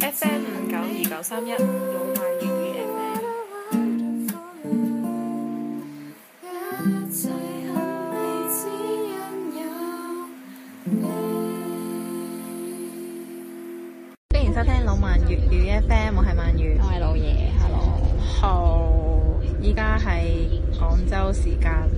FM 592931老萬粵語 FM。歡迎收聽老萬粵語 FM， 我係鰻魚， 我係老爺 ，Hello。 好，依家係廣州時間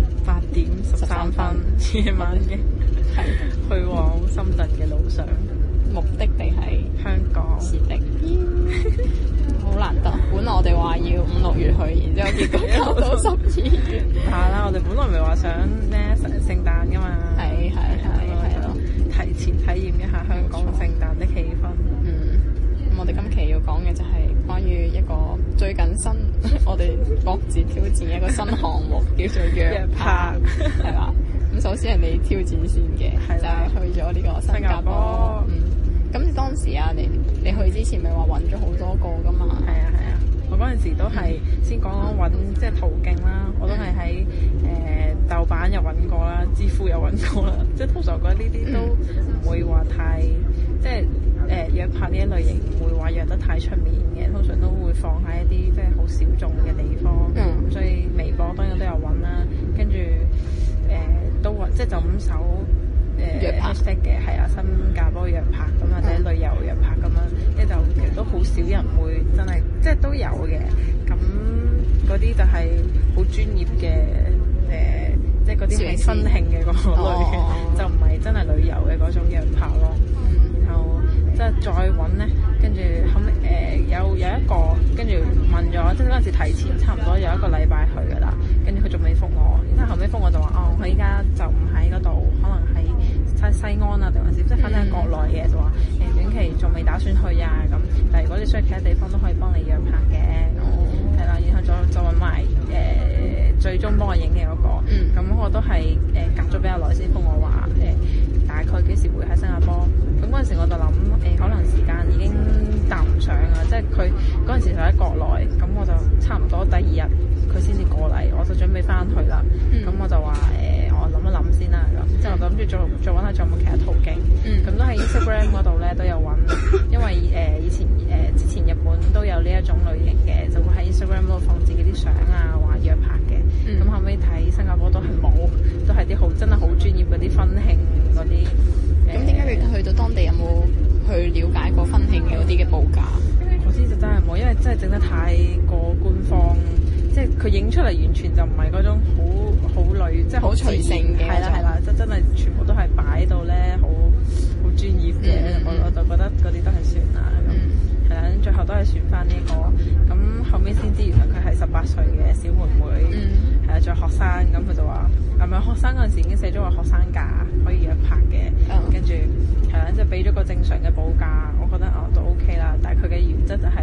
8:13夜晚嘅，去往深圳嘅路上， 目的地係香港是的，好難得。本來我哋話要5、6月去，然之後結果搞到12月。 係啦，我哋本來咪話想咩聖誕噶嘛， 係咯， 提前體驗一下香港聖誕的氣氛。 咁我哋今期要講嘅就係關於一個最近我哋各自挑戰一個新項目，叫做約拍，係啦。咁首先係你挑戰先嘅，就係去咗呢個新加坡。咁當時啊，你去之前咪話揾咗好多個噶嘛？ 係啊，我嗰陣時都係先講揾即係途徑啦，我都係喺豆瓣又揾過啦，知乎又揾過啦，即係通常覺得呢啲都唔會話太即係約拍呢一類型唔會話約得太出面嘅，通常都會放喺一啲即係好小眾嘅地方。所以微博當然都有揾啦，跟住都揾即係就咁搜約拍嘅，係啊，新加坡約拍咁或者旅遊約拍咁樣，即係就其實都好少人會真係即係都有嘅。咁嗰啲就係好專業嘅即係嗰啲係婚慶嘅嗰類嘅，就唔係真係旅遊嘅嗰種約拍咯。然後即係再揾咧，跟住後尾有一個跟住問咗，即係嗰陣時提前差唔多有一個禮拜去㗎啦，跟住佢仲未覆我，然之後後尾覆我就話佢依家就唔喺嗰度，可能喺西安啊定還是即係反正係國內嘅，就話短期仲未打算去啊咁，但係如果你需要其他地方都可以幫你約拍嘅，係啦，然後再揾埋最終幫我影嘅嗰個，咁我都係隔咗比較耐先覆我話大概幾時會喺新加坡。咁嗰陣時我就諗可能時間已經搭唔上啊，即係佢嗰陣時就喺國內，咁我就差唔多第二日佢先至過嚟，我就準備翻去啦。咁我就話我諗一諗先啦，咁之後我就諗住再揾下仲有冇其他途徑。咁都喺 Instagram 嗰度咧都有揾，因為以前之前日本都有呢一種類型嘅，就會喺 Instagram 度放自己啲相啊，話約拍嘅。咁後尾睇新加坡都係冇，都係啲好真係好專業嗰啲婚慶嗰啲。 咁點解你去到當地有冇去了解過婚慶嘅嗰啲嘅報價？ 嗰啲就真係冇，因為真係整得太過官方，即係佢影出嚟完全就唔係嗰種好女，即係好隨性嘅。係啦，即真係全部都係擺到咧好專業嘅。我就覺得嗰啲都係算啦。係啦，最後都係選翻呢個。咁後尾先知原來佢係18歲嘅小妹妹，係啊，仲係學生。咁佢就話係咪學生嗰陣時已經寫咗話學生價可以約拍嘅，跟住係啦，即係俾咗個正常嘅報價，我覺得都 OK 啦。但係佢嘅原則就係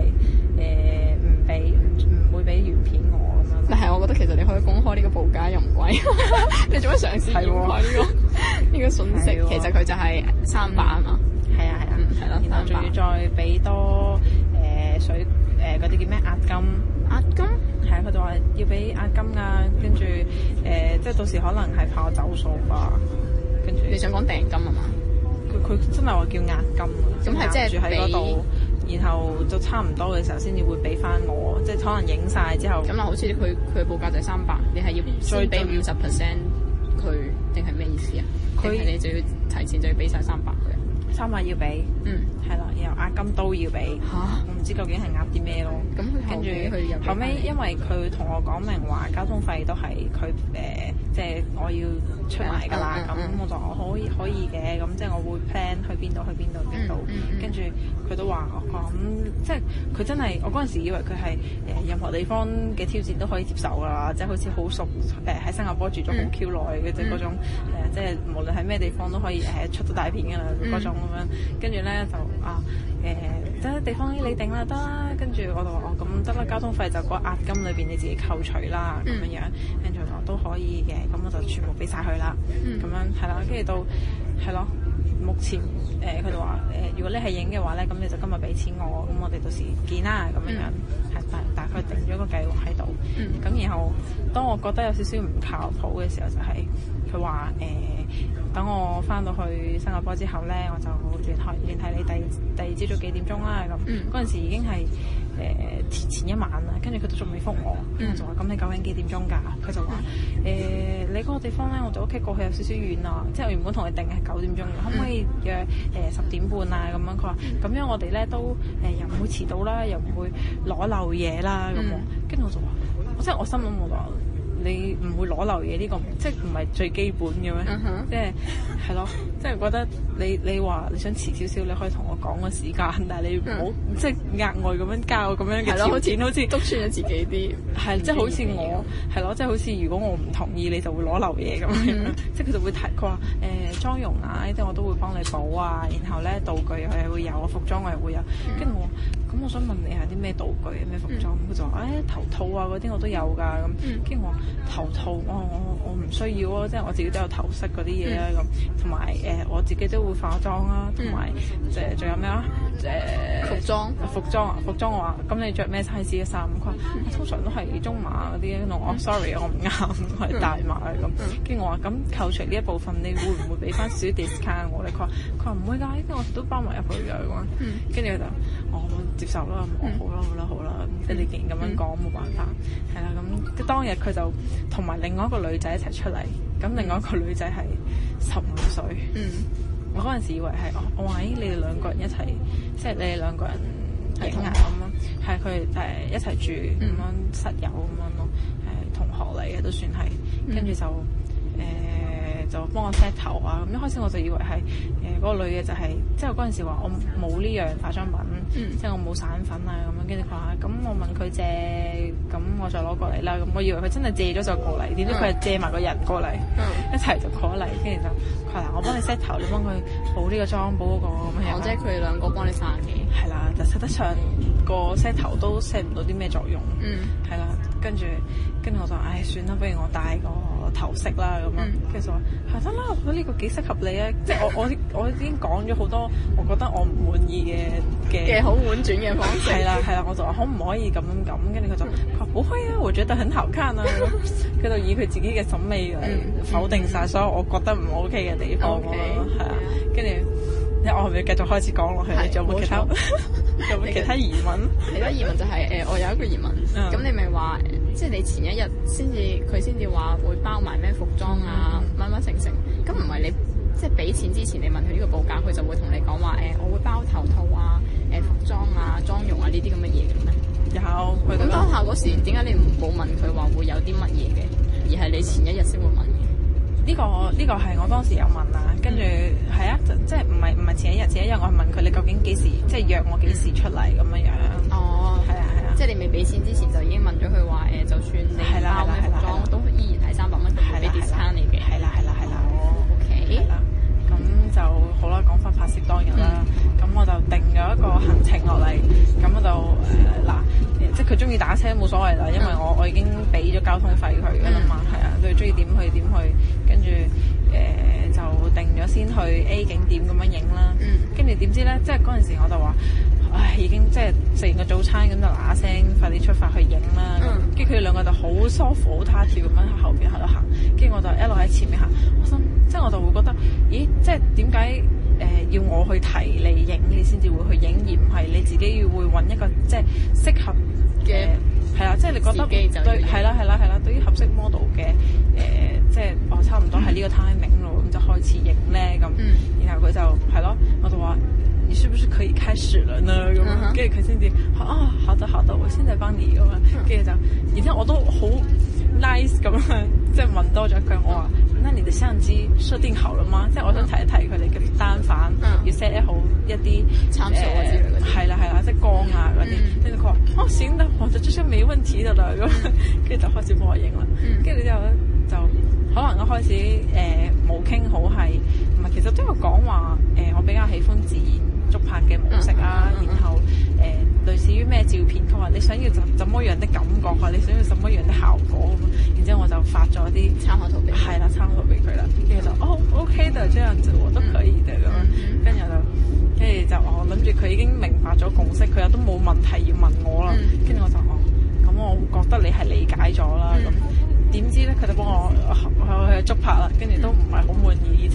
唔會俾原片我咁樣。 但係我覺得其實你可以公開呢個報價又唔貴，你做乜嘗試掩蓋呢個信息？其實佢就係300啊嘛。 係啊，然後仲要再俾多水嗰啲叫咩押金？ 押金？ 係啊，佢就話要俾押金啊，跟住即係到時可能係怕我走數吧。跟住你想講訂金啊嘛？ 佢真係話叫押金啊， 咁係即係住喺嗰度，然後就差唔多嘅時候先至會俾翻我，即係可能影晒之後。 咁好似佢嘅報價就係300，你係要先俾50%佢，定係咩意思啊？定係你就要提前就要俾晒300佢 ？300要俾，係啦，然後押金都要俾。我唔知究竟係押啲咩咯。咁跟住後尾，因為佢同我講明話交通費都係佢即係我要出埋㗎啦。咁我就可以嘅，咁即係我會 plan 去邊度。跟住佢都話咁，即係佢真係我嗰陣時以為佢係任何地方嘅挑戰都可以接受㗎啦，即係好似好熟喺新加坡住咗好 Q 耐嘅即係嗰種即係無論喺咩地方都可以出到大片㗎啦嗰種。咁樣，跟住咧就即係地方你定啦，得啦。跟住我就話咁得啦，交通費就嗰押金裏邊你自己扣除啦，咁樣。跟住我都可以嘅，咁我就全部俾晒佢啦。咁樣係啦，跟住到係咯。目前佢就話如果你係影嘅話咧，咁你就今日俾錢我，咁我哋到時見啦，咁樣係大概定咗個計劃喺度。咁然後當我覺得有少少唔靠譜嘅時候，就係佢話等我翻到去新加坡之後咧，我就聯繫你第二朝早幾點鐘啦。咁嗰陣時已經係前一晚啦，跟住佢都仲未覆我，跟住就話咁你究竟幾點鐘㗎？佢就話你嗰個地方咧，我哋屋企過去有少少遠啊，即係我原本同你定係9點鐘嘅，可唔可以約10點半啊？咁樣佢話咁樣我哋咧都又唔會遲到啦，又唔會攞漏嘢啦咁喎。跟住我就話，即係我心諗我話。你唔會攞漏嘢呢個，即係唔係最基本嘅咩？即係係咯，即係覺得你話你想遲少少，你可以同我講個時間，但係你唔好即係額外咁樣交咁樣嘅條件，好似督穿咗自己啲。係即係好似我係咯，即係好似如果我唔同意，你就會攞漏嘢咁樣。即係佢就會提佢話妝容啊，呢啲我都會幫你補啊，然後咧道具我係會有，服裝我係會有。跟住我咁，我想問你係啲咩道具咩服裝？佢就話頭套啊嗰啲我都有㗎咁。跟住我話頭套我唔需要啊，即係我自己都有頭飾嗰啲嘢啊咁，同埋我自己都會化妝啊，同埋仲有咩啊？服裝我話咁你着咩 size 嘅衫？佢話通常都係中碼嗰啲，我 sorry 我唔啱，我係大碼咁。跟住我話咁扣除呢一部分，你會唔會俾翻少 discount 我咧？佢話唔會㗎，呢啲我都包埋入去㗎咁。跟住佢就我接受啦，好啦，即係你既然咁樣講冇辦法，係啦咁。當日佢就同埋另外一個女仔一齊出嚟，咁另外一個女仔係15歲。我嗰陣時以為係我話你哋兩個人一齊，即係你哋兩個人影啊咁樣，係佢哋一齊住咁樣室友咁樣咯，同學嚟嘅都算係，跟住就幫我 set 頭啊！咁一開始我就以為係嗰個女嘅就係，即係我嗰陣時話我冇呢樣化妝品，即係我冇散粉啊咁樣。跟住佢話咁我問佢借，咁我再攞過嚟啦。咁我以為佢真係借咗就過嚟，點知佢係借埋個人過嚟，一齊就過嚟。跟住就佢話嗱，我幫你 set 頭，你幫佢補呢個妝，補嗰個咁樣。 即係佢哋兩個幫你散嘅。 係啦，就實質上個 set 頭都 set 唔到啲咩作用。係啦，跟住我就算啦，不如我戴個頭飾啦咁樣。跟住就話得啦，我覺得呢個幾適合你啊！即係我已經講咗好多，我覺得我唔滿意嘅好婉轉嘅方式。 係啦，我就話可唔可以咁？跟住佢就話好可以啊，我覺得很好看啊！佢就以佢自己嘅審美嚟否定晒所有我覺得唔 OK 嘅地方咯。係啊，跟住我係咪繼續開始講落去？你仲有冇其他？有冇其他疑問？ 其他疑問就係我有一個疑問。咁你咪話，即係你前一日佢先至話會包埋咩服裝啊，乜成。咁唔係你即係俾錢之前，你問佢呢個報價，佢就會同你講話我會包頭套啊、服裝啊、妝容啊呢啲咁嘅嘢嘅咩？ 有。 咁當下嗰時點解你冇問佢話會有啲乜嘢嘅，而係你前一日先會問嘅？ 呢個係我當時有問啊，跟住係啊，即係唔係前一日我係問佢你究竟幾時，即係約我幾時出嚟咁樣樣。哦，係啊，即係你未俾錢之前就已經問咗佢話就算你包咩服裝都依然係300蚊，佢俾 discount 你嘅。係啦。OK。係啦，咁就好啦，講翻拍攝當日啦，咁我就定咗一個行程落嚟，咁我就即係佢中意打車冇所謂啦，因為我已經俾咗交通費佢㗎啦嘛，係啊，佢中意點去點去，跟住就定咗先去 A 景點咁樣影啦，跟住點知咧，即係嗰陣時我就話，已經即係食完個早餐咁就嗱聲快啲出發去影啦，跟住佢哋兩個就好舒服好他條咁樣喺後邊喺度行，跟住我就一路喺前面行，即係我就會覺得，咦，即係點解要我去提你影，你先至會去影，而唔係你自己要會揾一個即係適合嘅係啦，即係你覺得對係啦，對於合適 model 嘅即係我差唔多係呢個 timing 咯，咁就開始影咧咁，然後佢就係咯，我就話你是不是可以開始了呢？咁樣，跟住佢先至好的，我現在幫你咁樣，跟住就，然之後我都好 nice 咁樣，即係問多咗一句，我話。那你的相機設定好了嗎？即係我想提一提佢哋嘅單反，要 set 好一啲參數啊之類嗰啲。係啦，即係光啊嗰啲。跟住佢話行得，我就這些沒問題的啦咁，跟住就開始幫我影啦。跟住之後咧就可能一開始冇傾好係，唔係其實都有講話我比較喜歡自然捉拍嘅模式啊，然後類似於咩照片，佢話你想要怎麼樣的感覺啊，你想要怎麼樣的效果咁，然之後我就發咗啲參考圖俾佢啦，跟住就OK 的，這樣子我都可以的咁樣，跟住就我諗住佢已經明白咗共識，佢又都冇問題要問我啦，跟住我就咁我覺得你係理解咗啦咁。點知咧，佢就幫我去捉拍啦，跟住都唔係好滿意，而且佢係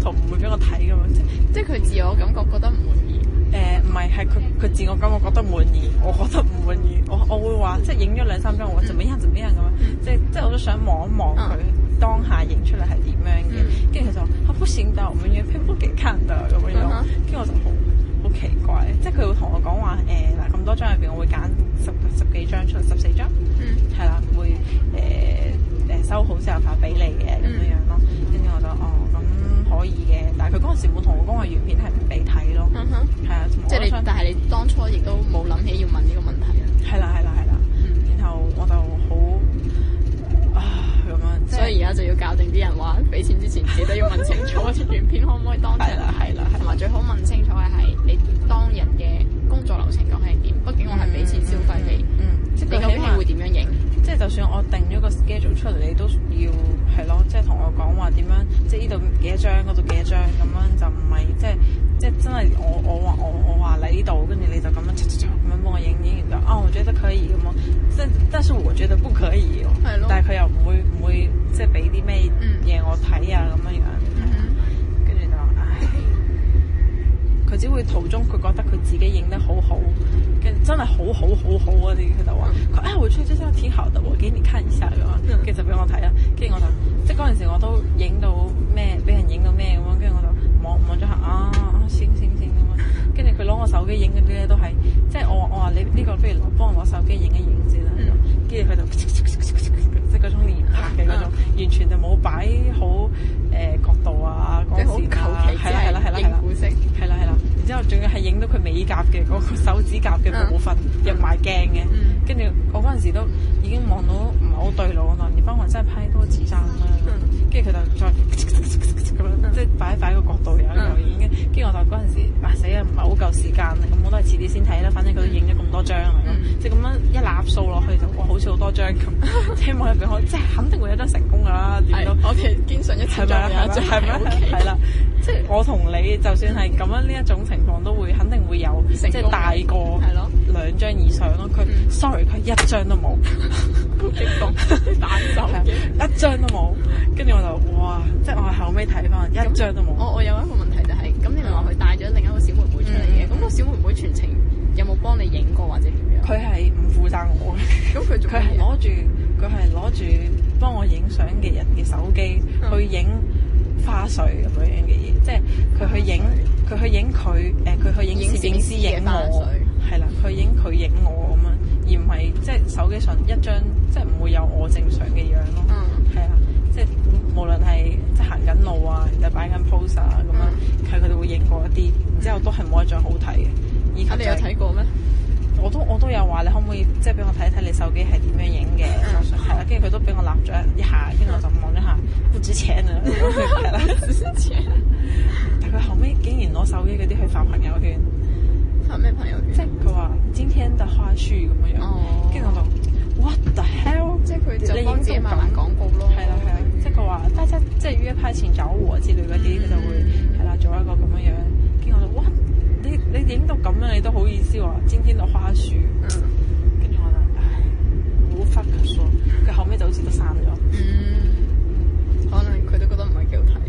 圖唔會俾我睇噶嘛， 即係佢自我感覺覺得唔滿意。 唔係，係佢自我感覺覺得滿意，我覺得唔滿意。我會話即係影咗2-3張，我話怎麼樣咁樣，即係我都想望一望佢當下影出嚟係點樣嘅。跟住佢就話不行的，我們原片不給看的咁樣。跟住我就好奇怪，即係佢會同我講話嗱，咁多張入邊，我會揀十幾張出嚟，14張，係啦，會收好之後發俾你嘅咁樣咯。跟住我就咁可以嘅，但係佢嗰陣時冇同我講話原片係唔俾睇咯。係啊， 即係但係你當初亦都冇諗起要問呢個問題啊。 係啦。然後我就好咁樣， 所以而家就要教定啲人話，俾錢之前記得要問清楚原片可唔可以當場睇啦，同埋最好問清楚嘅係你當日嘅工作流程究竟係點。畢竟我係俾錢消費你，你究竟係會點樣影？ 即係就算我定咗個 schedule 出嚟，你都要係咯，即係同我講話點樣，即係呢度幾多張，嗰度幾多張咁樣，就唔係即係真係我話你呢度，跟住你就咁樣咁樣幫我影完就我覺得可以咁咯。即係但是我覺得不可以喎。係咯。但係佢又唔會即係俾啲咩嘢我睇啊咁樣樣。跟住就唉，佢只會途中佢覺得佢自己影得好好，跟住真係好啊啲，佢就話我覺得這張挺好的，我給你看一下咁啊，跟住就俾我睇啦。跟住我就即係嗰陣時我都影到咩，俾人影到咩咁樣，跟住我就望咗下行咁啊。跟住佢攞我手機影嗰啲咧都係，即係我話你呢個不如幫我攞手機影一影先啦。跟住佢就即係嗰種連拍嘅嗰種，完全就冇擺好角度啊，嗰時係啦， 影古色係啦。然之後仲要係影到佢美甲嘅嗰個手指甲嘅部分入埋鏡嘅。跟住我嗰陣時都已經望到唔係好對路，我話你幫我真係拍多幾張啦。跟住佢就再咁樣，即係擺個角度又影嘅。跟住我就嗰陣時死啊，唔係好夠時間啦，咁我都係遲啲先睇啦。反正佢都影咗咁多張啦，咁即係咁樣一擸數落去就哇，好似好多張咁。希望入邊可即係肯定會有得成功㗎啦，點都我哋堅信一次再有一張係咪？ 係啦，即係我同你就算係咁樣呢一種情況，都會肯定會有即係大過2張以上咯。佢 sorry， 佢1張都冇， 好激動，彈手嘅 1張都冇。跟住我就哇，即係我後尾睇翻1張都冇。 我有一個問題就係，咁你咪話佢帶咗另一個小妹妹出嚟嘅，咁個小妹妹全程有冇幫你影過或者點樣？ 佢係唔負責我嘅，咁佢係攞住幫我影相嘅人嘅手機去影花絮咁樣嘅嘢，即係佢去影佢去影攝影師影我，係啦，佢影佢影我咁樣，而唔係即係手機上一張，即係唔會有我正常嘅樣咯。係啊，即係無論係即係行緊路啊，又擺緊 pose 啊咁樣，佢哋會影過一啲，然之後都係冇一張好睇嘅。 你有睇過咩？ 我都有話你可唔可以即係俾我睇睇你手機係點樣影嘅？係啦，跟住佢都俾我立咗一下，跟住我就望咗下，不值錢啊！係啦，不值錢。但佢後尾竟然攞手機嗰啲去發朋友圈， 發咩朋友圈？ 即係佢話今天的花絮咁樣樣，跟住我就 what the hell！ 即係佢就幫自己慢慢廣告咯。 係啦，即係佢話大家即係約拍前找我之類嗰啲，佢就會係啦做一個咁樣樣，跟住我就 what？你影到咁樣，你都好意思話今天的花絮？跟住我就唉，無法可說。佢後尾就好似都刪咗。 可能佢都覺得唔係幾好睇。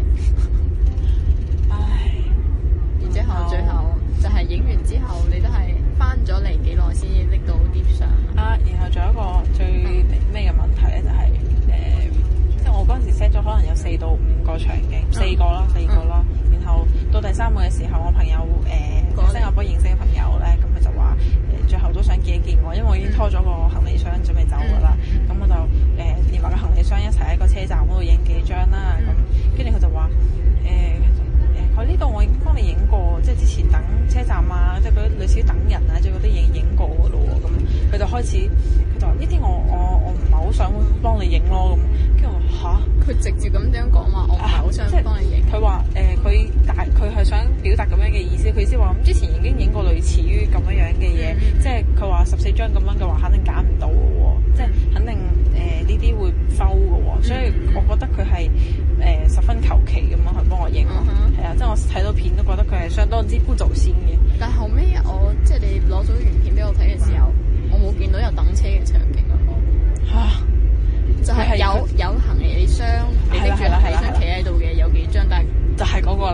唉， 然之後最後就係影完之後，你都係翻咗嚟幾耐先拎到啲相啊？ 然後仲有一個最咩嘅問題咧，就係即係我嗰陣時 set 咗可能有4到5個場景，4個啦。然後到第3個嘅時候，我朋友新加坡認識嘅朋友咧，咁佢就話最後都想見一見我，因為我已經拖咗個行李箱準備走㗎啦。咁我就連埋個行李箱一齊喺個車站嗰度影幾張啦。咁跟住佢就話佢呢度我已經幫你影過，即係之前等車站啊，即係嗰啲類似等人啊，即係嗰啲影過㗎咯喎。咁佢就開始佢就話呢啲我唔係好想幫你影咯。咁跟住我話嚇， 佢直接咁樣講話，我唔係好想幫你影。 佢話佢係想表達咁樣嘅意思，佢意思話咁之前已經影過類似於咁樣嘅嘢，即係佢話14張咁樣嘅話，肯定揀唔到嘅喎，即係肯定呢啲會 fail 嘅喎，所以我覺得佢係十分求其咁樣去幫我影咯，係啊，即係我睇到片都覺得佢係相當之不走心嘅。 但後尾即係你攞咗原片俾我睇嘅時候，我冇見到有等車嘅場景啊！就係有行李箱，你拎住行李箱企喺度嘅有幾張，但係就係嗰個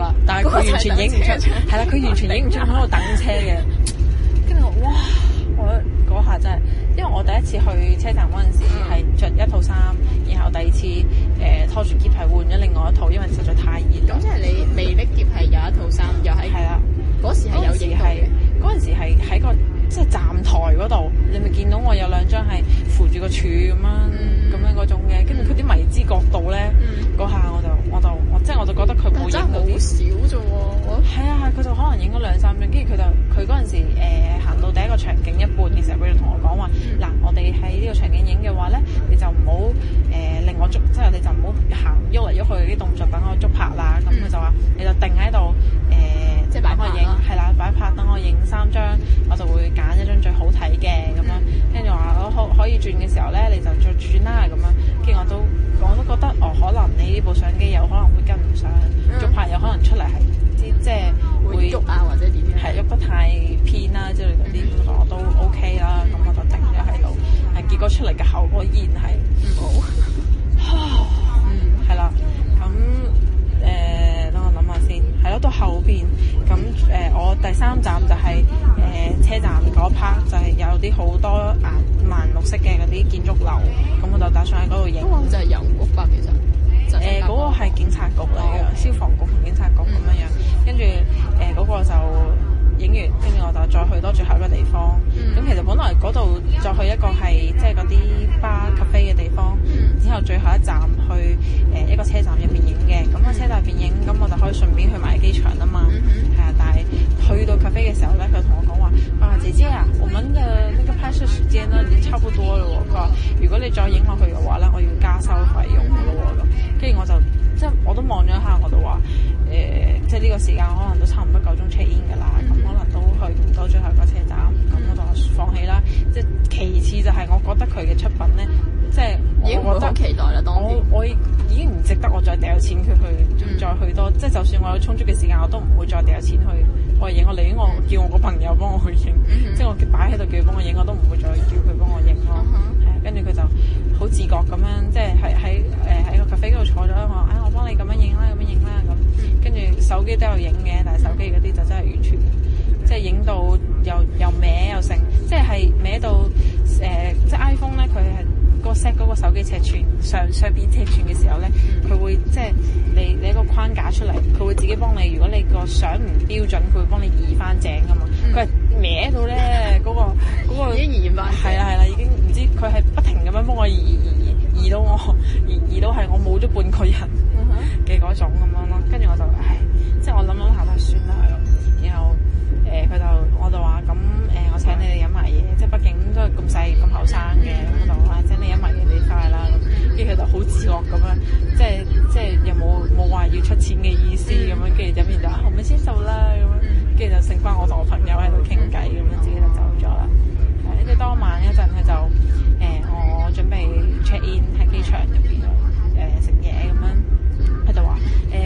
全影唔出，係啦，佢完全影唔出喺度等車嘅。跟住我哇，我嗰下真係，因為我第一次去車站嗰陣時係着一套衫，然後第二次拖住喼係換咗另外一套，因為實在太熱。 咁即係你未拎喼係有一套衫，又喺係啦， 嗰時係有影到嘅。 嗰陣時係喺個即係站台嗰度，你咪見到我有兩張係扶住個柱咁樣嗰種嘅，跟住佢啲迷之角度咧，嗰下我就覺得佢冇影到啲。 好少啫喎！ 係啊，佢就可能影咗兩三張，跟住佢嗰陣時行到第一個場景一半嘅時候，佢就同我講話：嗱，我哋喺呢個場景影嘅話咧，你就唔好令我捉，即係你就唔好行喐嚟喐去啲動作，等我捉拍啦。咁佢就話：你就定喺度即係擺拍影，係啦，擺拍等我影3張，我就會揀一張最好睇嘅咁樣。跟住話我可以轉嘅時候咧，你就再轉啦咁樣。跟住我都覺得可能你呢部相機有可能會跟唔上，捉拍有可能出嚟係即係會喐啊或者點樣， 係喐得太偏啦之類嗰啲，咁我都 OK 啦。咁我就定咗喺度，結果出嚟嘅效果依然係唔好。係啦，咁等我諗下先，係咯，到後邊咁我第3站就係車站嗰 part 就係有啲好多顏綠色嘅嗰啲建築樓，咁我就打算喺嗰度影。 嗰個就係郵局吧，其實。 嗰個係警察局嚟嘅，消防局同警察局咁樣，跟住嗰個就影完，跟住我就再去多最後一個地方。咁其實本來嗰度再去一個係即係嗰啲巴 cafe 嘅地方，之後最後一站去一個車站入邊影嘅。咁個車站入邊影，咁我就可以順便去埋機場啊嘛。係啊，但係去到 cafe 嘅時候咧，佢同我講話：姐姐啊，我們嘅那個拍攝時間呢已經差不多啦喎。佢話：如果你再影落去嘅話咧，我要加收費用嘅咯喎咁。跟住我就即係我都望咗一下，我就話即係呢個時間可能都差唔多夠鐘 check in 㗎啦，咁可能都去唔到最後一個車站，咁我就放棄啦。即係其次就係我覺得佢嘅出品咧，即係我覺得期待啦。 我已經唔值得我再掉錢佢去再去多，即係就算我有充足嘅時間，我都唔會再掉錢去我影。我寧願我叫我個朋友幫我去影，即係我擺喺度叫佢幫我影，我都唔會再叫佢幫我影咯。跟住佢就好自覺咁樣，即係喺個 cafe 嗰度坐咗，我幫你咁樣影啦，咁樣影啦咁。跟住手機都有影嘅，但係手機嗰啲就真係完全即係影到又歪又成，即係歪到即係 iPhone 咧，佢係個 set 嗰個手機尺寸上邊尺寸嘅時候咧，佢會即係你一個框架出嚟，佢會自己幫你。如果你個相唔標準，佢會幫你移翻正噶嘛。佢係歪到咧，嗰個已經移翻。 係啦，已經唔知佢係不停咁樣幫我移到我移到係我冇咗半個人嘅嗰種咁樣咯。跟住我就即係我諗下都係算啦。然後我就話咁我請你哋飲埋嘢，即係畢竟都係咁細咁後生嘅，咁我就話請你飲埋嘢你快啦。跟住佢就好自覺咁樣，即係又冇話要出錢嘅意思咁樣，跟住飲完就我咪先走啦咁樣，跟住就剩翻我同我朋友喺度傾偈咁樣，自己就走咗啦。跟住當晚一陣佢就我準備 check in 喺機場入邊食嘢咁樣，佢就話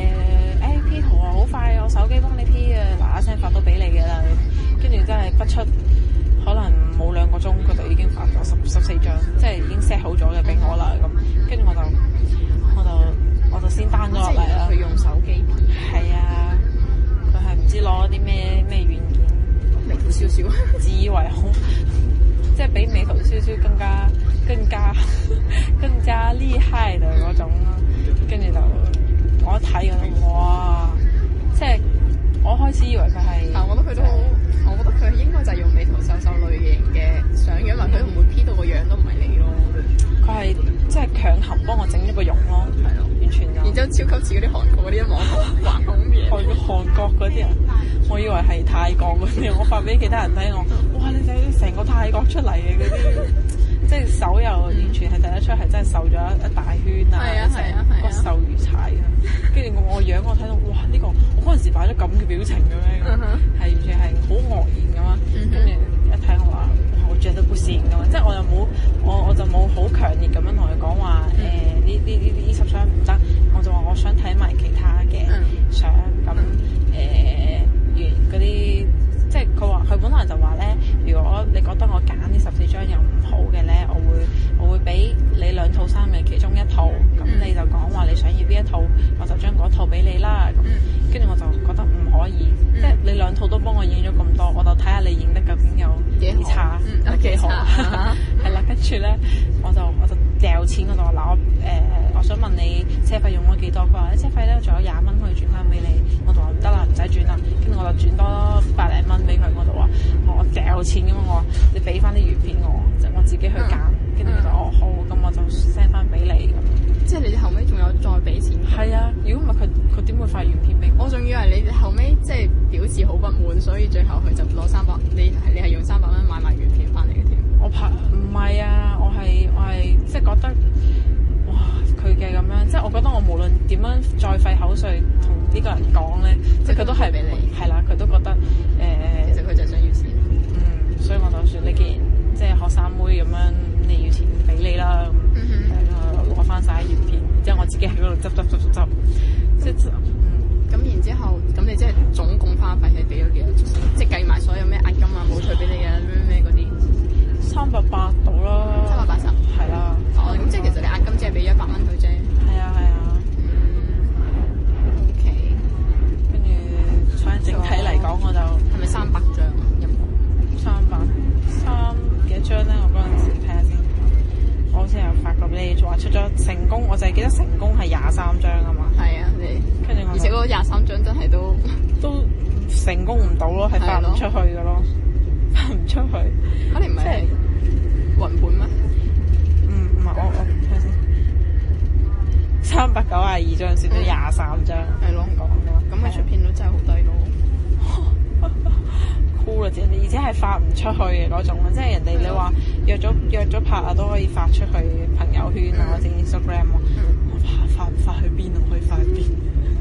P 圖啊好快，我手機幫你 P 啊，嗱嗱聲發到俾你嘅啦。跟住真係不出可能冇2個鐘，佢就已經發咗14張，即係已經 set 好咗嘅俾我啦咁。跟住我就先 down 咗落嚟啦。 佢用手機 P。 係啊，佢係唔知攞啲咩軟件， 美圖秀秀， 自以為好，即係比美圖秀秀更加厲害嘅嗰種咯。跟住就我一睇哇，即係我開始以為佢係， 但我覺得佢都好，我覺得佢應該就係用美圖秀秀類型嘅相樣，因為佢唔會 P 到個樣都唔係你咯。 佢係即係強行幫我整一個容咯，係咯，完全。然之後超級似嗰啲韓國嗰啲網紅橫孔面。 韓國嗰啲人，我以為係泰國嗰啲，我發俾其他人睇哇！你睇成個泰國出嚟嘅嗰啲。即係手又完全係睇得出係真係瘦咗一大圈啊，成骨瘦如柴啊！跟住我樣我睇到哇呢個我嗰陣時擺咗咁嘅表情嘅咩？係完全係好愕然咁啊！跟住一睇我話我著得不善咁啊！即係我又冇我就冇好強烈咁樣同佢講話呢輯相唔得，我就話我想睇埋其他嘅相咁嗰啲。即係佢本來就話咧，如果果你覺得我揀呢14張又唔好嘅咧，我會俾你2套衫嘅其中1套，咁你就講話你想要邊一套，我就將嗰套俾你啦。咁跟住我就覺得唔可以，即係你2套都幫我影咗咁多，我就睇下你影得究竟有幾差，有幾好。係啦，跟住咧我就掉錢，我就話嗱我想問你車費用咗幾多？佢話車費咧仲有20蚊可以轉翻俾你。我就話唔得啦，唔使轉啦。跟住我就轉多百零蚊俾佢，我就話我掉錢咁，我話你俾翻啲魚片我，即係我自己去揀。跟住佢就好，咁我就 send 翻俾你咁。 即係你哋後尾仲有再俾錢？ 係啊，如果唔係佢點會發原片俾我？ 我仲以為你哋後尾即係表示好不滿，所以最後佢就攞300，你係用300蚊買埋原片翻嚟嘅添。 我拍唔係啊，我係即係覺得哇佢嘅咁樣，即係我覺得我無論點樣再費口水同呢個人講咧，即係佢都係俾你係啦，佢都覺得其實佢就係想要錢。 所以我就算你既然即係學生妹咁樣，你要錢俾你啦，攞翻晒原片，之後我自己喺嗰度執，即係咁然之後，咁你即係總共花費係俾咗幾多？即係計埋所有咩押金啊、冇退俾你啊、咩嗰啲 380到啦 ，380 係啦。 哦，咁即係其實你押金只係俾100蚊佢啫。 係啊。 OK。 跟住反正整體嚟講，我就係咪300張啊？有冇 300幾多張咧？我嗰陣時睇下先，我好似有發過俾你，話出咗成功，我就係記得成功係23張啊嘛。 係啊， 跟住而且嗰23張真係都成功唔到咯，係發唔出去嘅咯，發唔出去。 你唔係雲本咩？ 唔係我睇下先，392張算咗23張。 係咯，咁咪出片率真係好低咯。 酷啦，而且係發唔出去嘅嗰種，即係人哋你話約咗拍啊都可以發出去朋友圈啊或者 Instagram 啊，我發去邊啊？可以發去邊？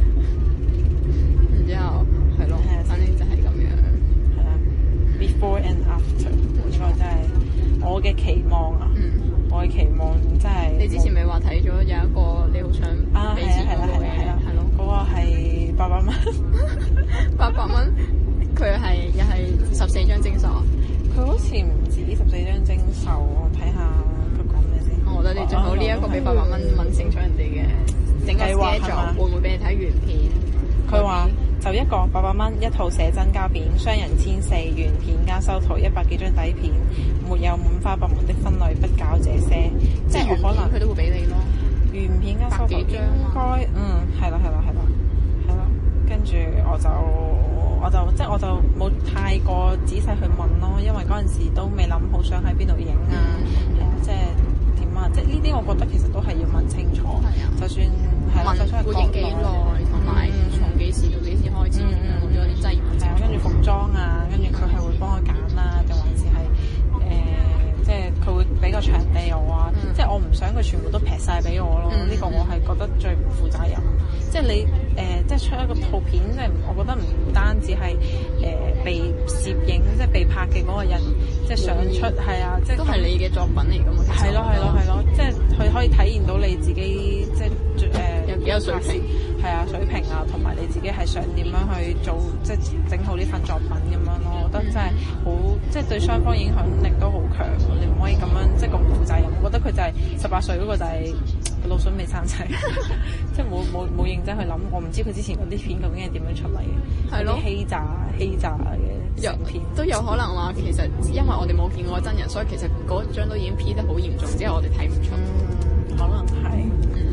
然之後係咯，反正就係咁樣。 係啦 ，before and after 呢個真係我嘅期望啊！我嘅期望真係。你之前咪話睇咗有一個你好想俾錢嗰個嘅，係咯，嗰個係800蚊 ，800蚊。佢又係14張徵收啊！ 佢好似唔止14張徵收，我睇下佢講咩先。 我覺得你最好呢一個俾800蚊問清楚人哋嘅整個 schedule，會唔會俾你睇原片？ 佢話就一個800蚊一套寫真膠片，雙人1400原片加修圖100幾張底片，沒有五花八門的分類，不搞這些。 即係原片佢都會俾你咯。 原片加修圖應該係啦，跟住我就冇太過仔細去問咯，因為嗰陣時都未諗好想喺邊度影啊，即係點啊，即係呢啲我覺得其實都係要問清楚。就算係就算會影幾耐，同埋從幾時到幾時開始，嗰啲真係要問清楚。 跟住服裝啊，跟住佢係會幫我揀啦，定還是係即係佢會俾個場地我啊，即係我唔想佢全部都劈晒俾我咯。呢個我係覺得最唔負責任。即係你即係出一個套片，即係我覺得唔單止係被攝影，即係被拍嘅嗰個人，即係想出係啊，即係都係你嘅作品嚟㗎嘛。 係咯，即係佢可以體現到你自己，即係有幾有水平， 係啊，水平啊，同埋你自己係想點樣去做，即係整好呢份作品咁樣咯。我覺得真係好，即係對雙方影響力都好強。你唔可以咁樣即係咁負責任。我覺得佢就係18歲嗰個就係腦筍未生仔，即係冇認真去諗。我唔知佢之前嗰啲片究竟係點樣出嚟嘅，係咯，欺詐嘅片都有可能話其實因為我哋冇見過真人，所以其實嗰張都已經 P 得好嚴重，之後我哋睇唔出。 可能係，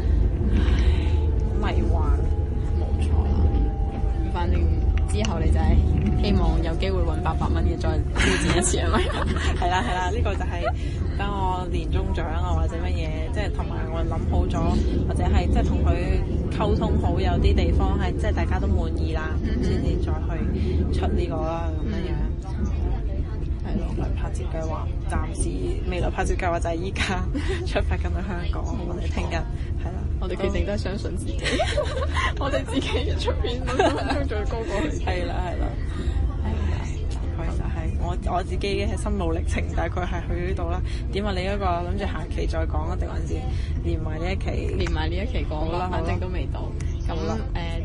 迷幻， 冇錯啦。反正之後你就係希望有機會揾800蚊嘅再挑戰一次係咪？ 係啦，呢個就係等我年終獎啊或者乜嘢，即係同埋我諗好咗，或者係即係同佢溝通好，有啲地方係即係大家都滿意啦，先至再去出呢個啦咁樣。係咯，來拍攝計劃，暫時未來拍攝計劃就係依家出發緊去香港，我哋聽日係啦。 我哋決定都係相信自己，我哋自己一出片都將最高過去。 係啦，大概就係我自己嘅心路歷程，大概係去呢度啦。點啊？你嗰個諗住下期再講啊，定還是連埋呢一期？ 連埋呢一期講啦，反正都未到。咁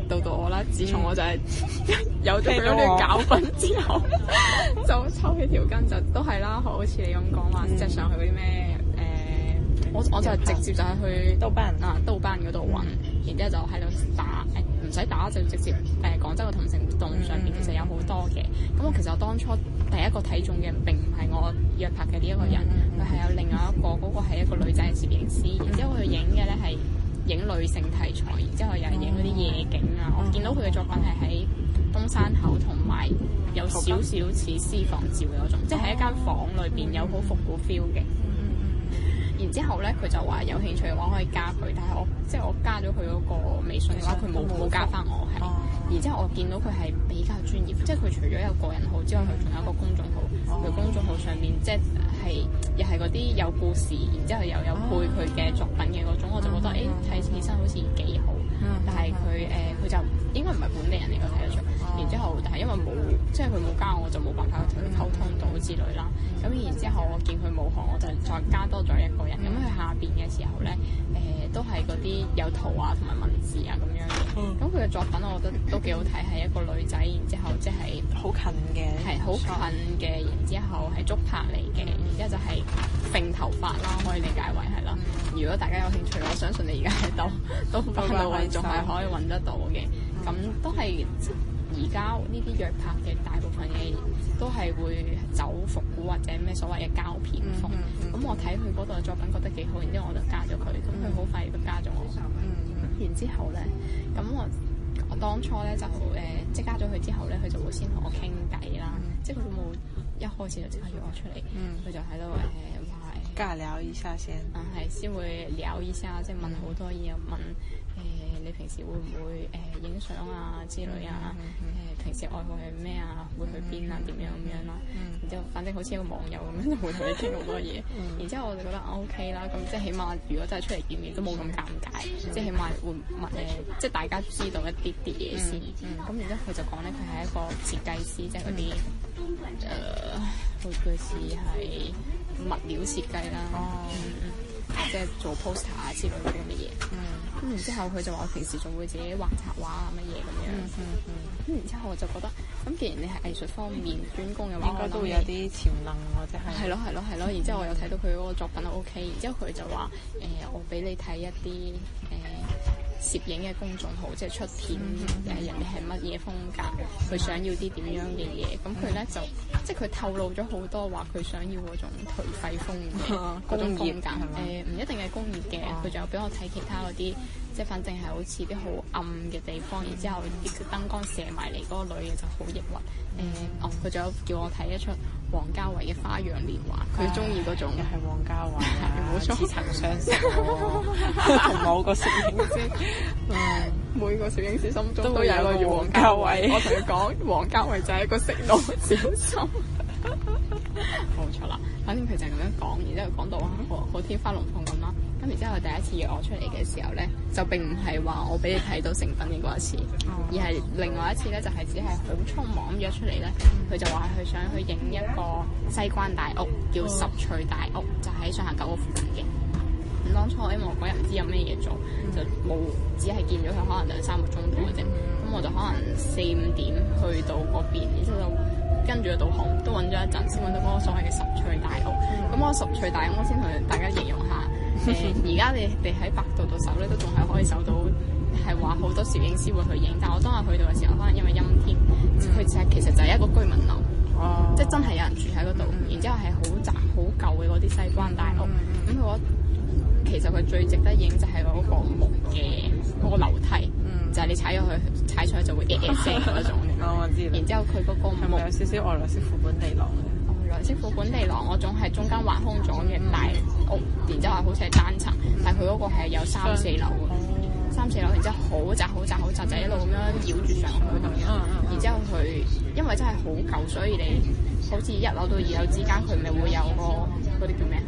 到我啦。自從我就係有咗嗰啲教訓之後，就抽起條筋就都係啦。好似你咁講話，即係上去嗰啲咩我就係直接就係去豆瓣豆瓣嗰度揾，然之後就喺度打唔使打就直接廣州嘅同城活動上邊其實有好多嘅。咁我其實我當初第一個睇中嘅並唔係我約拍嘅呢一個人，佢係有另外一個，嗰個係一個女仔嘅攝影師，然之後佢影嘅咧係影女性題材，然之後又係影嗰啲夜景啊。我見到佢嘅作品係喺東山口同埋有少少似私房照嘅嗰種，即係喺一間房裏邊有好復古 feel 嘅。然之後咧，佢就話有興趣嘅話可以加佢，但係我加咗佢嗰個微信嘅話，佢冇加翻我係。然之後我見到佢係比較專業，即係佢除咗有個人號之外，佢仲有一個公眾號。佢公眾號上面即係又係嗰啲有故事，然之後又有配佢嘅作品嘅嗰種，我就覺得睇起身好似幾好。但係佢就應該唔係本地人嚟嘅，睇得出。然之後，但係因為冇即係佢冇加我，就冇辦法同佢溝通到之類啦。咁然之後我見佢冇行，我就再加多咗一個人。咁佢下邊嘅時候咧，都係嗰啲有圖啊同埋文字啊咁樣嘅。咁佢嘅作品我覺得都幾好睇，係一個女仔，然之後即係好近嘅， 係好近嘅，然之後係足拍嚟嘅，然之後就係揈頭髮啦，可以理解為係啦。如果大家有興趣，我相信你而家喺豆瓣度仲係可以揾得到嘅。咁都係而家呢啲約拍嘅大部分嘅都係會走復古或者咩所謂嘅膠片風。咁我睇佢嗰度嘅作品覺得幾好，然之後我就加咗佢。咁佢好快亦都加咗我。然之後咧，咁我當初咧就即係加咗佢之後咧，佢就會先同我傾偈啦。即係佢都冇一開始就即刻約我出嚟，佢就喺度話尬聊一下先。 係先會聊一下，即係問好多嘢，問你平時會唔會影相啊之類啊？平時愛好係咩啊？會去邊啊？點樣咁樣啦？然之後反正好似一個網友咁樣，就會同你傾好多嘢。然之後我就覺得 OK 啦，咁即係起碼如果真係出嚟見面都冇咁尷尬，即係起碼會問即係大家知道一啲嘢先。咁然之後佢就講咧，佢係一個設計師，即係嗰啲好似係物料設計啦。即係做 poster 啊之類嗰啲嘢，咁然之後佢就話我平時仲會自己畫插畫啊乜嘢咁樣，咁然之後我就覺得，咁既然你係藝術方面專攻嘅話， 應該都會有啲潛能或者係。係咯。 然之後我又睇到佢嗰個作品都 OK，然之後佢就話我俾你睇一啲攝影嘅公眾號，即係出片人哋係乜嘢風格，佢想要啲點樣嘅嘢，咁佢咧就即係佢透露咗好多話佢想要嗰種頹廢風嘅嗰種風格，唔一定係工業嘅，佢仲有俾我睇其他嗰啲，即係反正係好似啲好暗嘅地方，然之後啲燈光射埋嚟嗰個女嘅就好抑鬱。佢仲有叫我睇一出王家衛嘅《花樣年華》，佢中意嗰種。 又係王家衛啊， 冇錯， 似曾相識喎。同某個攝影師， 每個攝影師心中都有一個個王家衛。我同佢講，王家衛就係一個色狼小心。冇錯啦，反正佢就係咁樣講，然之後講到好天花龍鳳咁啦。咁然之後佢第一次約我出嚟嘅時候咧，就並唔係話我俾你睇到成品嘅嗰一次，而係另外一次咧，就係只係好匆忙咁約出嚟咧。佢就話佢想去影一個西關大屋，叫十翠大屋，就喺上下九個附近嘅。咁當初因為我嗰日唔知有咩嘢做，就冇只係見咗佢可能2-3個鐘頭嘅啫。咁我就可能4-5點去到嗰邊，然之後就跟住個導航都揾咗一陣，先揾到嗰個所謂嘅十翠大屋。咁我十翠大屋，我先同大家形容下。而家你哋喺百度度搜咧，都仲係可以搜到，係話好多攝影師會去影。但我當日去到嘅時候，可能因為陰天，佢其實就係一個居民樓，即係真係有人住喺嗰度。然之後係好窄好舊嘅嗰啲西關大屋。咁佢其實佢最值得影就係嗰個木嘅嗰個樓梯，就係你踩上去就會聲嗰種。 我知。然之後佢嗰個木係咪有少少外來式副本地廊嘅？ 外來式副本地廊嗰種係中間挖空咗嘅大屋，然之後好似係單層，但係佢嗰個係有3-4樓嘅，3-4樓，然之後好窄，就一路咁樣繞住上去咁樣。然之後佢因為真係好舊，所以你好似1樓到2樓之間，佢咪會有個嗰啲叫咩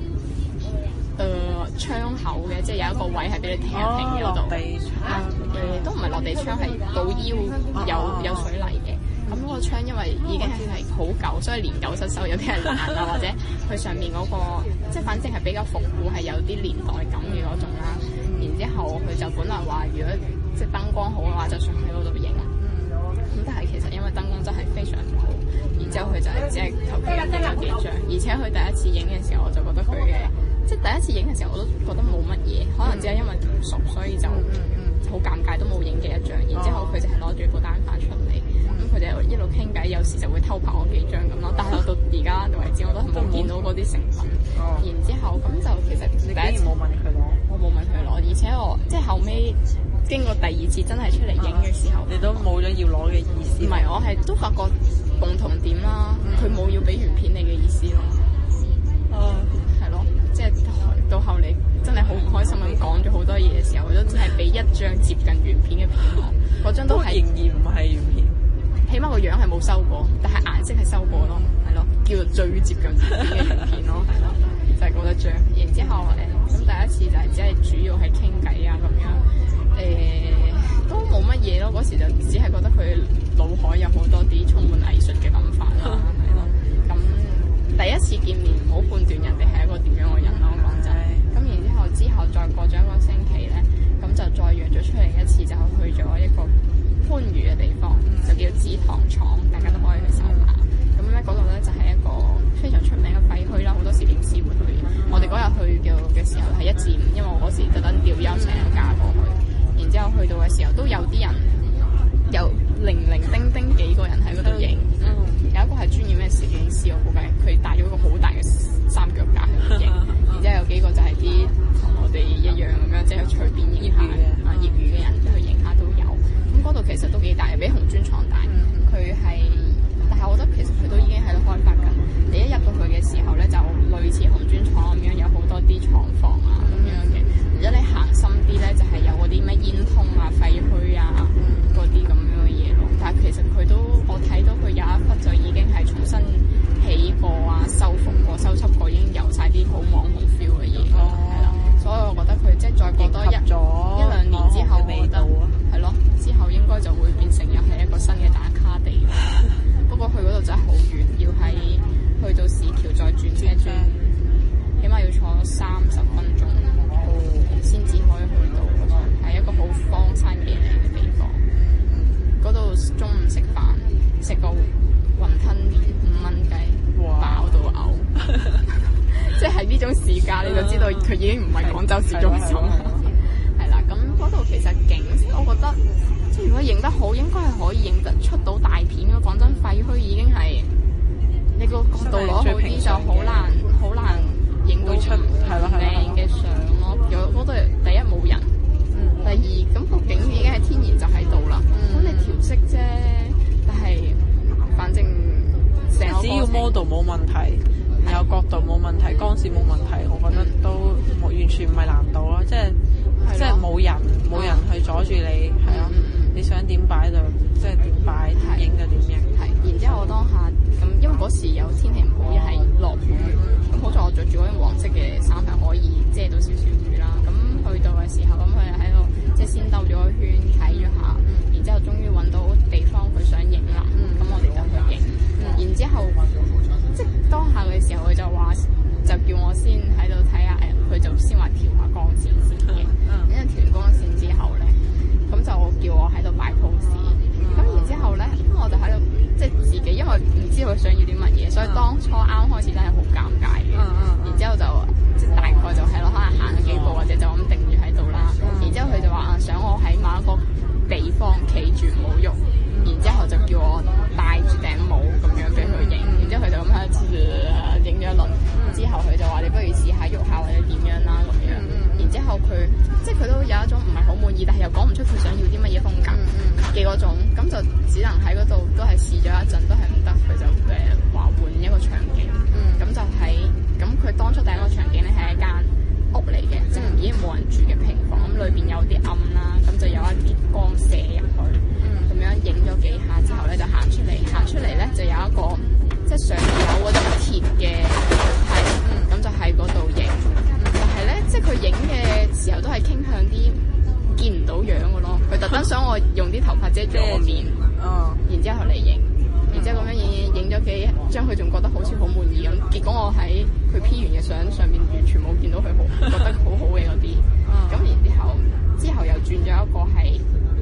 窗口嘅，即係有一個位係俾你停一停嘅嗰度。落地窗都唔係落地窗，係到腰有水泥嘅。咁嗰個窗因為已經係好舊，所以年久失修，有啲係爛啊，或者佢上面嗰個即係反正係比較復古，係有啲年代感嘅嗰種啦。然之後佢就本來話，如果即係燈光好嘅話，就想喺嗰度影。咁但係其實因為燈光真係非常唔好，然之後佢就係只係求其影咗幾張，而且佢第一次影嘅時候，我就覺得佢嘅即係第一次影嘅時候，我都覺得冇乜嘢，可能只係因為唔熟，所以就好尷尬，都冇影幾一張。然之後佢就係攞住部單反出嚟，咁佢哋一路傾偈，有時就會偷拍我幾張咁咯。但係我到而家為止，我都係冇見到嗰啲成品。然之後咁就其實你竟然冇問佢攞？ 我冇問佢攞，而且我即係後尾經過第二次真係出嚟影嘅時候， 你都冇咗要攞嘅意思。 唔係，我係都發覺共同點啦，佢冇要俾原片你嘅意思咯。係咯，即係到後嚟真係好唔開心咁講咗好多嘢嘅時候，都只係俾一張接近原片嘅片我，嗰張都係仍然唔係原片， 起碼個樣係冇修過，但係顏色係修過咯，係咯，叫做最接近原片嘅原片咯，係咯，就係嗰一張。然之後咁第一次就係只係主要係傾偈啊咁樣，都冇乜嘢咯。嗰時就只係覺得佢腦海有好多啲充滿藝術嘅諗法啦，係咯。咁第一次見面唔好判斷人哋係一個點樣嘅人咯，講真。咁之後再過咗一個星期咧，咁就再約咗出嚟一次，就去咗一個番禺嘅地方，就叫紫糖廠，大家都可以去搜下。咁咧嗰度咧就係一個非常出名嘅廢墟啦，好多攝影師會去。我哋嗰日去嘅時候係1至5，因為我嗰時特登調休請咗假過去。然之後去到嘅時候都有啲人，有零零丁丁幾個人喺嗰度影。有一個係專業嘅攝影師，我估計佢帶咗一個好大嘅三腳架喺度影。然之後有幾個就係啲同我哋一樣咁樣，即係隨便影下業餘嘅人去影下都有。咁嗰度其實都幾大，比紅磚廠大。佢係，但係我覺得其實佢都已經喺度開發緊。你一入到去嘅時候咧，就類似紅磚廠咁樣，有好多啲廠房啊咁樣嘅。然之後你行深啲咧，就係有嗰啲咩煙囪啊、廢墟啊嗰啲咁樣嘅嘢咯。但係其實佢都，我睇到佢有一忽就已經係重新起過啊、修復過、修葺過，已經有晒啲好網紅 feel 嘅嘢咯，係啦。所以我覺得佢即係再過多一兩年之後，我覺得係咯，之後應該就會變成又係一個新嘅打卡地。不過去嗰度真係好遠，要喺去到市橋再轉車轉，起碼要坐30分鐘先至可以去到嗰度，係一個好荒山野嶺嘅地方。嗰度中午食飯，食個雲吞麵5蚊雞，飽到嘔。即係呢種市價，你就知道佢已經唔係廣州市中心。係啦，咁嗰度其實景，我覺得即係如果影得好，應該係可以影得出到大片嘅。講真，廢墟已經係你個角度攞好啲，就好難影到出靚嘅相咯。有嗰度第一冇人，第二咁個景已經係天然就喺度啦。咁你調色啫，但係反正成個只要 model 冇問題，有角度冇問題，光線冇問題，我覺得都完全唔係難度咯。即係冇人去阻住你，係咯。你想點擺就即係點擺，點影就點影。 係，然之後我當下咁，因為嗰時有天氣唔好，又係落雨，咁好在我着住嗰件黃色嘅衫係可以遮到少少雨啦。咁去到嘅時候，咁佢又喺度即係先兜咗個圈睇咗下，然之後終於揾到地方佢想影啦。咁我哋就去影。然之後即係當下嘅時候，佢就話就叫我先喺度睇下，佢就先話調下光線先嘅。因為調完光線之後咧，咁就叫我喺度擺 pose。咁然之後咧，咁我就喺度即係自己，因為唔知佢想要啲乜嘢，所以當初啱開始真係好尷尬嘅。然之後就即係大概就係咯，可能行咗幾步或者就咁定住喺度啦。然之後佢就話想我喺某一個地方企住唔好喐，然之後就叫我戴住頂帽咁樣俾佢影。然之後佢就咁喺度影咗一輪。之後佢就話你不如試下喐下或者點樣啦咁樣。然之後佢即係佢都有一種唔係好滿意，但係又講唔出佢想要啲乜嘢風格嘅嗰種，咁就只能喺嗰度都係試咗一陣，都係唔得，佢就話換一個場景。咁就喺咁佢當初第一個場景咧係一間屋嚟嘅，即係已經冇人住嘅平房，咁裏邊有啲暗啦，咁就有一啲光射入去，咁樣影咗幾下之後咧就行出嚟咧就有一個即係上面有嗰啲鐵嘅梯，咁就喺嗰度影。但係咧，即係佢影嘅時候都係傾向啲見唔到樣嘅咯。佢特登想我用啲頭髮遮住我面，然之後嚟影，然之後咁樣影咗幾張，佢仲覺得好似好滿意咁。結果我喺佢 P 完嘅相上面完全冇見到佢覺得好好嘅嗰啲。咁然之後又轉咗一個係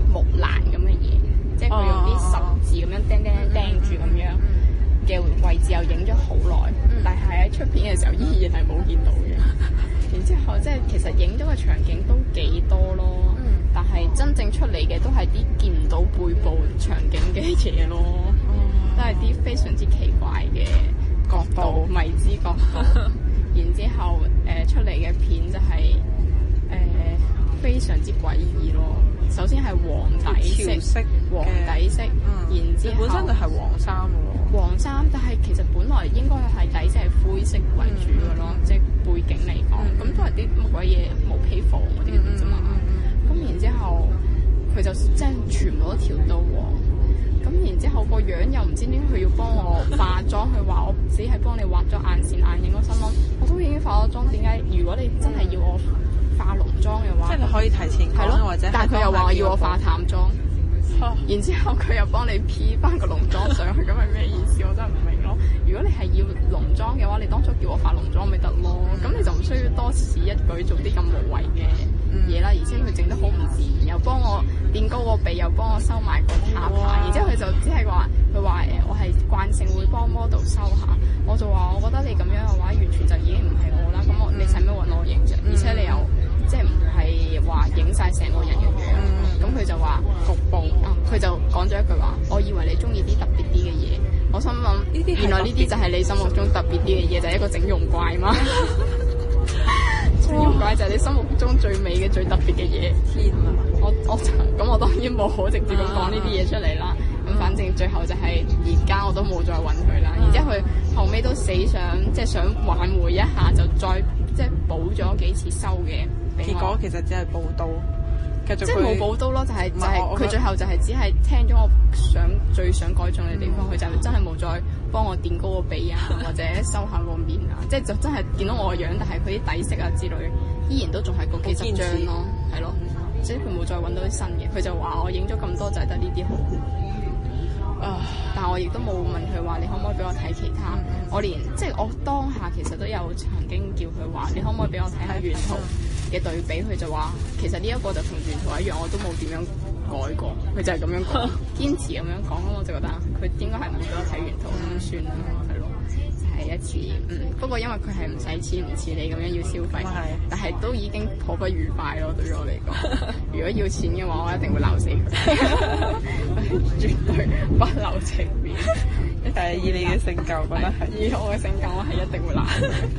木欄咁嘅嘢，即係佢用啲十字咁樣釘住咁樣嘅位置，又影咗好耐，但係喺出片嘅時候依然係冇見到嘅。然之後即係其實影咗嘅場景都幾多咯，但係真正出嚟嘅都係啲見唔到背部場景嘅嘢咯，都係啲非常之奇怪嘅角度、未知角度。然之後出嚟嘅片就係非常之詭異咯。首先係黃底色，然之後本身就係黃衫喎。 黃衫，但係其實本來應該係底色係灰色為主嘅咯，即係背景嚟講，咁都係啲乜鬼嘢毛坯房嗰啲啫嘛。咁然之後佢就即係全部都調到黃。咁然之後個樣又唔知點解佢要幫我化妝，佢話我只係幫你畫咗眼線眼影。我心諗我都已經化咗妝，點解如果你真係要我化濃妝嘅話， 即係你可以提前講，或者但係佢又話要我化淡妝，然之後佢又幫你 P 翻個濃妝上去，咁係咩意思？我真係唔明咯。如果你係要濃妝嘅話，你當初叫我化濃妝咪得咯，咁你就唔需要多此一舉做啲咁無謂嘅嘢啦。而且佢整得好唔自然，又幫我墊高個鼻，又幫我收埋個下巴，然之後佢就只係話佢話我係慣性會幫 model 收下，我就話我覺得你咁樣嘅話，完全就已經唔係我啦。咁你使咩揾我影啫？而且你又即係唔係話影晒成個人嘅樣，咁佢就話局部，佢就講咗一句話，我以為你中意啲特別啲嘅嘢。我心諗原來呢啲就係你心目中特別啲嘅嘢，就係一個整容怪嘛。整容怪就係你心目中最美嘅、最特別嘅嘢。天啊！我當然冇好直接咁講呢啲嘢出嚟啦。咁反正最後就係而家我都冇再揾佢啦。然之後佢後尾都死想即係想挽回一下，就再即係補咗幾次修嘅。 結果其實只係補刀， 即係冇補刀咯，就係佢最後就係只係聽咗我最想改進嘅地方，佢就真係冇再幫我墊高個鼻啊，或者收下個面啊，即係就真係見到我個樣，但係佢啲底色啊之類依然都仲係嗰幾十張咯，係咯，即係佢冇再揾到啲新嘅，佢就話我影咗咁多就係得呢啲好。但係我亦都冇問佢話你可唔可以俾我睇其他，我連即係我當下其實都有曾經叫佢話你可唔可以俾我睇下原圖嘅對比，佢就話其實呢一個就同原圖一樣，我都冇點樣改過，佢就係咁樣講，堅持咁樣講，咁我就覺得佢應該係唔俾我睇原圖咁算啦，係咯，就係一次不過因為佢係唔使錢，唔似你咁樣要消費，但係都已經頗不愉快咯，對於我嚟講。如果要錢嘅話，我一定會鬧死佢，絕對不留情面。 但係以你嘅性格，我覺得係以我嘅性格，我係一定會鬧。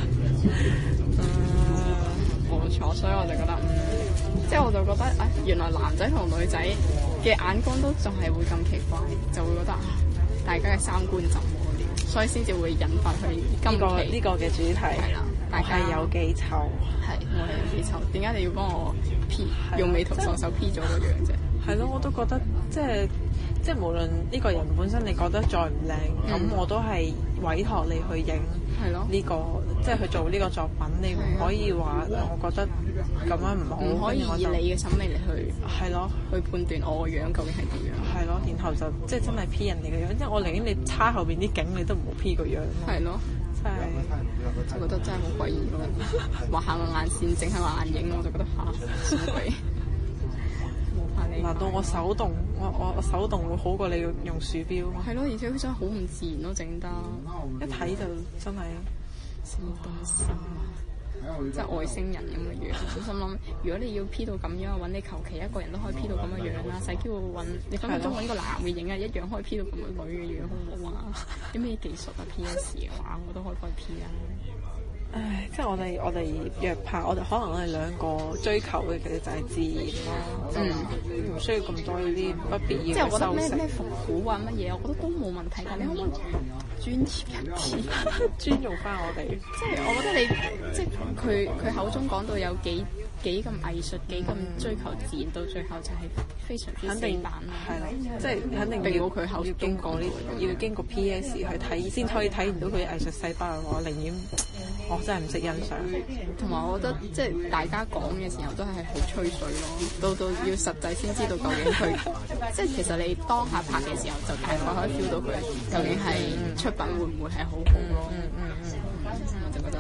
冇錯，所以我就覺得，即係我就覺得，原來男仔同女仔嘅眼光都仲係會咁奇怪，就會覺得大家嘅三觀怎麼了，所以先至會引發佢今期呢個嘅主題係啦，大家有幾醜？ 係我係有幾醜？點解你要幫我 P 用美圖秀秀 P 咗個樣啫？ 係咯，我都覺得即係無論呢個人本身你覺得再唔靚，咁我都係委託你去影呢個，即係去做呢個作品，你唔可以話我覺得咁樣唔好， 唔可以以你嘅審美嚟去係咯， 去判斷我個樣究竟係點樣。 係咯，然後就即係真係 P 人哋嘅樣，即係我寧願你叉後邊啲景，你都唔好 P 個樣。係咯， 真係就覺得真係好詭異咯，畫下個眼線，整下個眼影，我就覺得嚇乜鬼。 難道我手動我手動會好過你用鼠標？ 係咯，而且佢真係好唔自然咯，整得一睇就真係什麼東西即係外星人咁嘅樣。我心諗，如果你要 P 到咁樣，揾你求其一個人都可以 P 到咁嘅樣啦，使叫揾你分分鐘揾個男嘅影啊，一樣可以 P 到咁嘅女嘅樣，好唔好啊？有咩技術啊 ？PS 嘅話，我都可以幫你 P 啊！ 唉，即係我哋約拍，可能我哋兩個追求嘅其實就係自然咯，唔需要咁多呢啲不必要嘅修飾。 即係我覺得咩復古啊乜嘢，我覺得都冇問題。但你可唔可以專業一啲， 尊重翻我哋？ 即係我覺得你即係佢口中講到有幾咁藝術，幾咁追求自然，到最後就係非常之死板啦。 係啦，即係肯定要佢口經過呢，要經過 PS 去睇先可以體現到佢嘅藝術細胞。我寧願我真係唔識欣賞。 同埋我覺得即係大家講嘅時候都係好吹水咯，到要實際先知道究竟佢即係其實你當下拍嘅時候就大概可以 feel 到佢究竟係出品會唔會係好好咯。我就覺得係我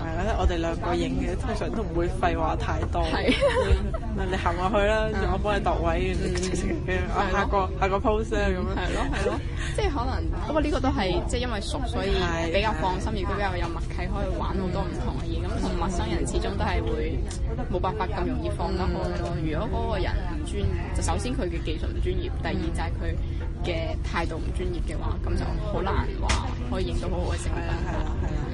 哋兩個影嘅，通常都唔會廢話太多。 係你行落去啦，我幫你度位，下個 pose 咧咁樣。 係咯，即係可能不過呢個都係即係因為熟，所以比較放心，亦都比較有默契，可以玩好多唔同嘅嘢。咁同陌生人始終都係會冇辦法咁容易放得開咯。如果嗰個人唔專業，就首先佢嘅技術唔專業，第二就係佢嘅態度唔專業嘅話，咁就好難話可以影到好好嘅成品。 係啦。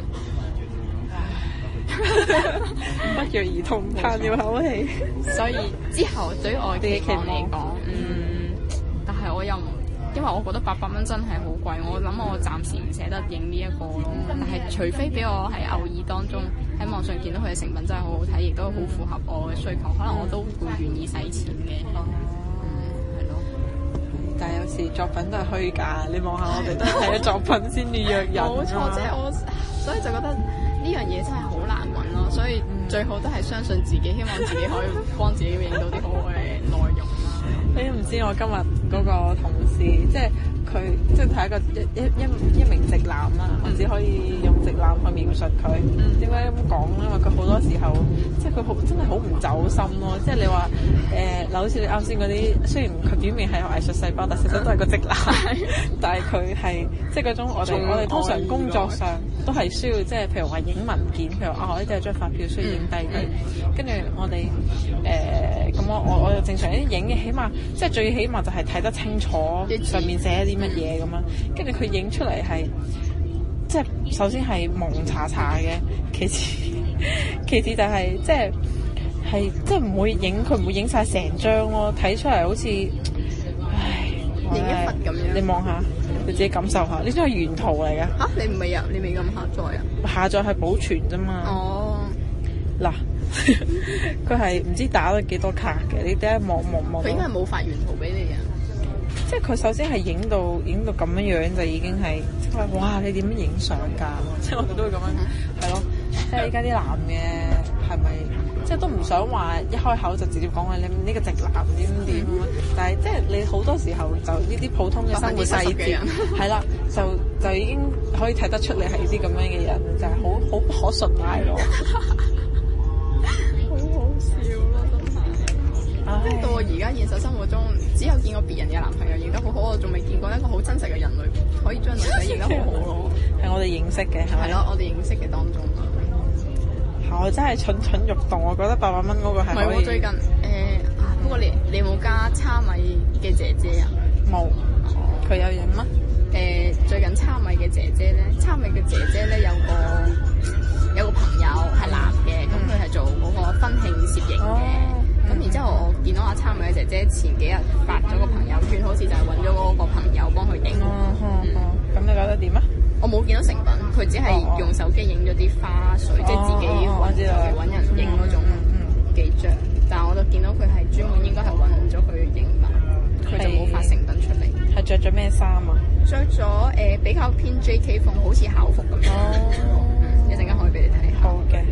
不約而同嘆了口氣。 所以之後對於我嘅期望嚟講，但係我又唔，因為我覺得800蚊真係好貴，我諗我暫時唔捨得影呢一個咯。但係除非俾我喺偶爾當中喺網上見到佢嘅成品真係好好睇，亦都好符合我嘅需求，可能我都會願意使錢嘅。係咯。 但係有時作品都係虛假，你望下我哋都係睇咗作品先至約人。 冇錯，即係我，所以就覺得呢樣嘢真係好難揾咯。所以最好都係相信自己，希望自己可以幫自己影到啲好好嘅內容啦。 你唔知我今日嗰個同事，即係佢，即係睇一個一名直男啦，我只可以用直男去描述佢。點解咁講咧？因為佢好多時候，即係佢真係好唔走心咯。即係你話嗱，好似你啱先嗰啲，雖然佢表面係有藝術細胞，但實質都係個直男。但係佢係即係嗰種我哋通常工作上都係需要，即係譬如話影文件，譬如我呢度有張發票需要影低佢，跟住我哋咁我就正常啲影嘅，起碼即係最起碼就係睇得清楚上面寫啲乜嘢咁樣，跟住佢影出嚟係即係首先係蒙查查嘅，其次就係即係唔會影，佢唔會影晒成張咯，睇出嚟好似影一忽咁樣。 你望下，你自己感受下，呢張係原圖嚟嘅。 嚇，你唔係啊？你未咁下載啊？ 下載係保存啫嘛。 哦。 嗱，佢係唔知打咗幾多卡嘅，你睇下望。 佢應該係冇發原圖俾你啊。 即係佢首先係影到咁樣樣就已經係，即係話哇你點樣影相㗎？即係我哋都會咁樣，係咯。即係依家啲男嘅係咪即係都唔想話一開口就直接講話你呢個直男點點，但係即係你好多時候就呢啲普通嘅生活細節係啦，就已經可以睇得出你係啲咁樣嘅人，就係好不可信賴咯。 好好笑咯，真係。到我而家現實生活中，只有見過別人嘅男朋友影得好好，我仲未見過一個好真實嘅人類可以將女仔影得好好咯。係我哋認識嘅，係咪？ 係咯，我哋認識嘅當中。 我真係蠢蠢欲動，我覺得800蚊嗰個係可以。唔係我最近不過你有冇加叉米嘅姐姐啊？ 冇。佢有影乜？ 最近叉米嘅姐姐咧，有個朋友係男嘅，咁佢係做嗰個婚慶攝影嘅。咁然之後我見到阿叉米嘅姐姐前幾日發咗個朋友圈，好似就係揾咗嗰個朋友幫佢影。 咁你覺得點啊？ 我冇見到成品，佢只係用手機影咗啲花絮，即係自己揾人影嗰種幾張。但係我就見到佢係專門應該係揾咗佢影吧，佢就冇發成品出嚟。 係着咗咩衫啊？ 着咗比較偏 JK 風，好似校服咁樣。一陣間可以俾你睇下。 好嘅。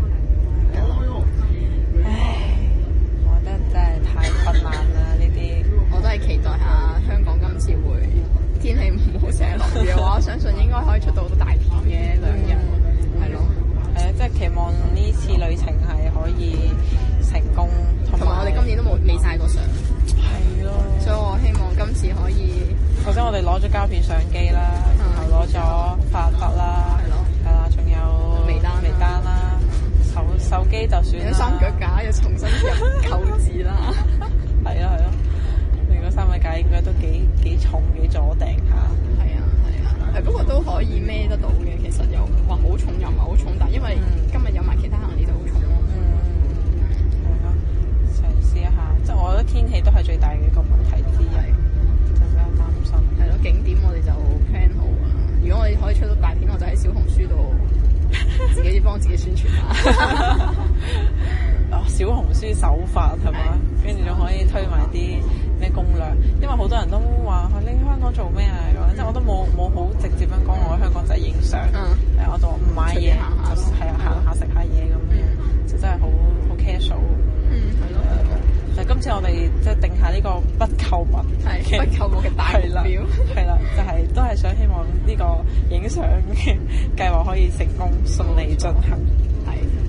唉，我覺得真係太困難啦呢啲。 我都係期待下香港今次會天氣唔好成日落雨嘅話，我相信應該可以出到好多大片嘅2日。係咯。 係啊，即係期望呢次旅程係可以成功， 同埋我哋今年都未曬過相。 係咯。 所以我希望今次可以。 首先我哋攞咗膠片相機啦，然後攞咗發筆啦，係啦，仲有微單啦，手機就算啦。 三腳架要重新入購置啦。 係啊，你嗰3腳架應該都幾重幾阻埞下。 係啊，不過都可以孭得到嘅，其實又話好重又唔係好重，但因為今日有埋其他行李就好重咯。 係咯，嘗試一下，即係我覺得天氣都係最大嘅一個問題之一。 係咯，景點我哋就 plan 好啊。如果我哋可以出到大片，我就喺小紅書度自己幫自己宣傳下。 小紅書手法係嘛？跟住仲可以推埋啲咩攻略，因為好多人都話你喺香港做咩啊咁，即係我都冇好直接咁講我喺香港就係影相，我就唔買嘢，係啊行下食下嘢咁樣，就真係好 casual。 係咯。 但係今次我哋即係定下呢個不購物嘅大目標， 係啦，就係都係想希望呢個影相嘅計劃可以成功順利進行。 係。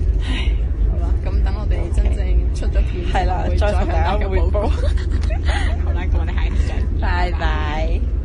再同大家匯報。 好啦，咁我哋下期再見， 拜拜。